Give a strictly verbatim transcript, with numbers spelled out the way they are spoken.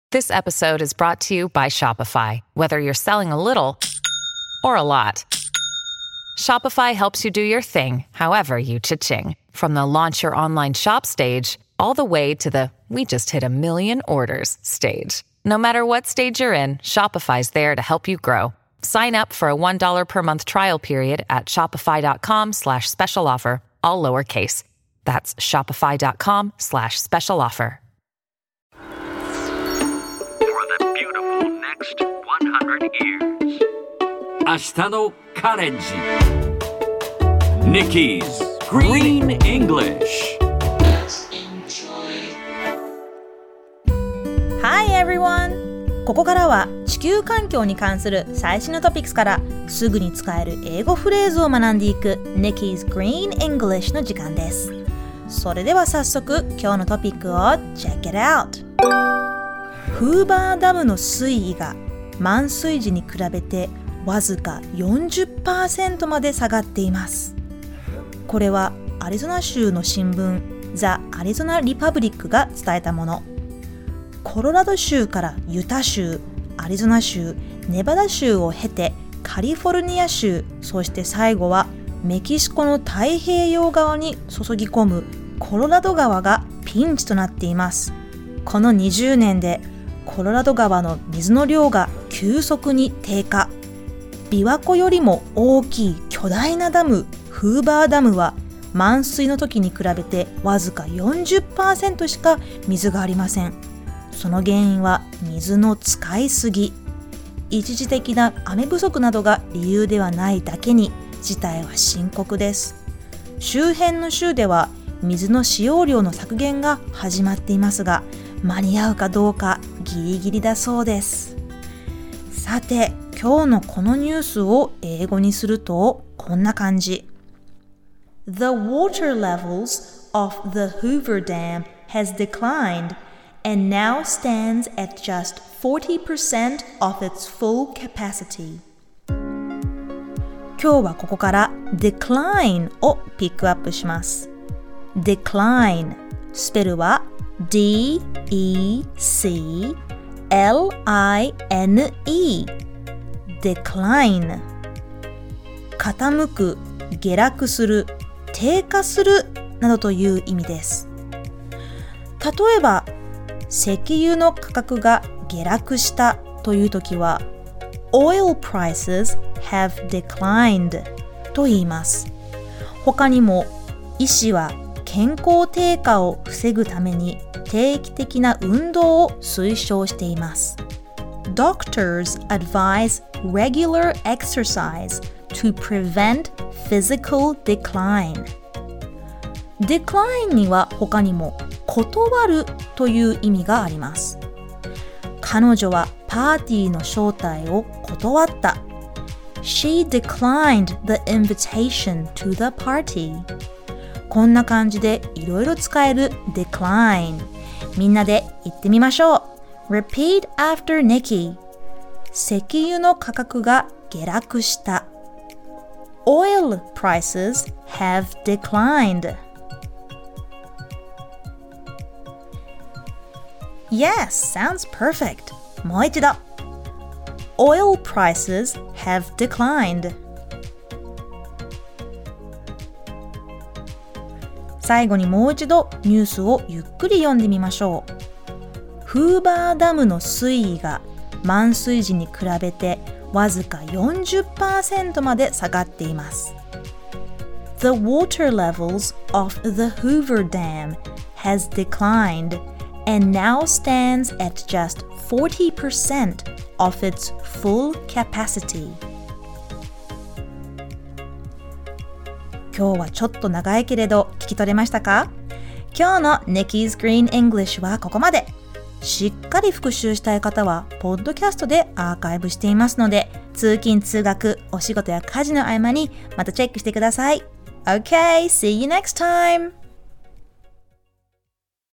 This episode is brought to you by Shopify. Whether you're selling a little or a lot, Shopify helps you do your thing, however you cha-ching. From the launch your online shop stage, all the way to the we just hit a million orders stage. No matter what stage you're in, Shopify's there to help you grow. Sign up for a one dollar per month trial period at shopify.com slash special offer, all lowercase. That's shopify.com slash special offer. For the beautiful next one hundred years. 明日のカレンジ Nikki's Green English. Hi everyone! ここからは地球環境に関する最新のトピックスからすぐに使える英語フレーズを学んでいく Nikki's Green English の時間です。それでは早速今日のトピックを Check it out! フーバーダムの水位が満水時に比べてわずか よんじゅっパーセント まで下がっています。これはアリゾナ州の新聞 The Arizona Republic が伝えたもの。コロラド州からユタ州、アリゾナ州、ネバダ州を経てカリフォルニア州、そして最後はメキシコの太平洋側に注ぎ込むコロラド川がピンチとなっています。このにじゅうねんでコロラド川の水の量が急速に低下。琵琶湖よりも大きい巨大なダム、フーバーダムは満水の時に比べてわずか よんじゅっパーセント しか水がありません。その原因は水の使いすぎ。一時的な雨不足などが理由ではないだけに事態は深刻です。周辺の州では水の使用量の削減が始まっていますが、間に合うかどうかギリギリだそうです。さて、今日のこのニュースを英語にするとこんな感じ。The water levels of the Hoover Dam has declined and now stands at just forty percent of its full capacity. 今日はここから decline をピックアップします。decline スペルは D E C L I N E decline 傾く、下落する、低下するなどという意味です。例えば石油の価格が下落したというときは Oil prices have declined と言います。他にも医師は健康低下を防ぐために定期的な運動を推奨しています。Doctors advise regular exercise to prevent physical decline. decline には他にも断るという意味があります。彼女はパーティーの招待を断った。She declined the invitation to the party. こんな感じでいろいろ使える decline。みんなで言ってみましょう。Repeat after Nikki. 石油の価格が下落した。Oil prices have declined. Yes, sounds perfect. もう一度。Oil prices have declined. 最後にもう一度ニュースをゆっくり読んでみましょう。フーバーダムの水位が満水時に比べてわずか よんじゅっパーセント まで下がっています。The water levels of the Hoover Dam has declined and now stands at just forty percent of its full capacity. 今日はちょっと長いけれど聞き取れましたか？今日の Nikki's Green English はここまで。しっかり復習したい方はポッドキャストでアーカイブしていますので、通勤通学、お仕事や家事の合間にまたチェックしてください。Okay, see you next time!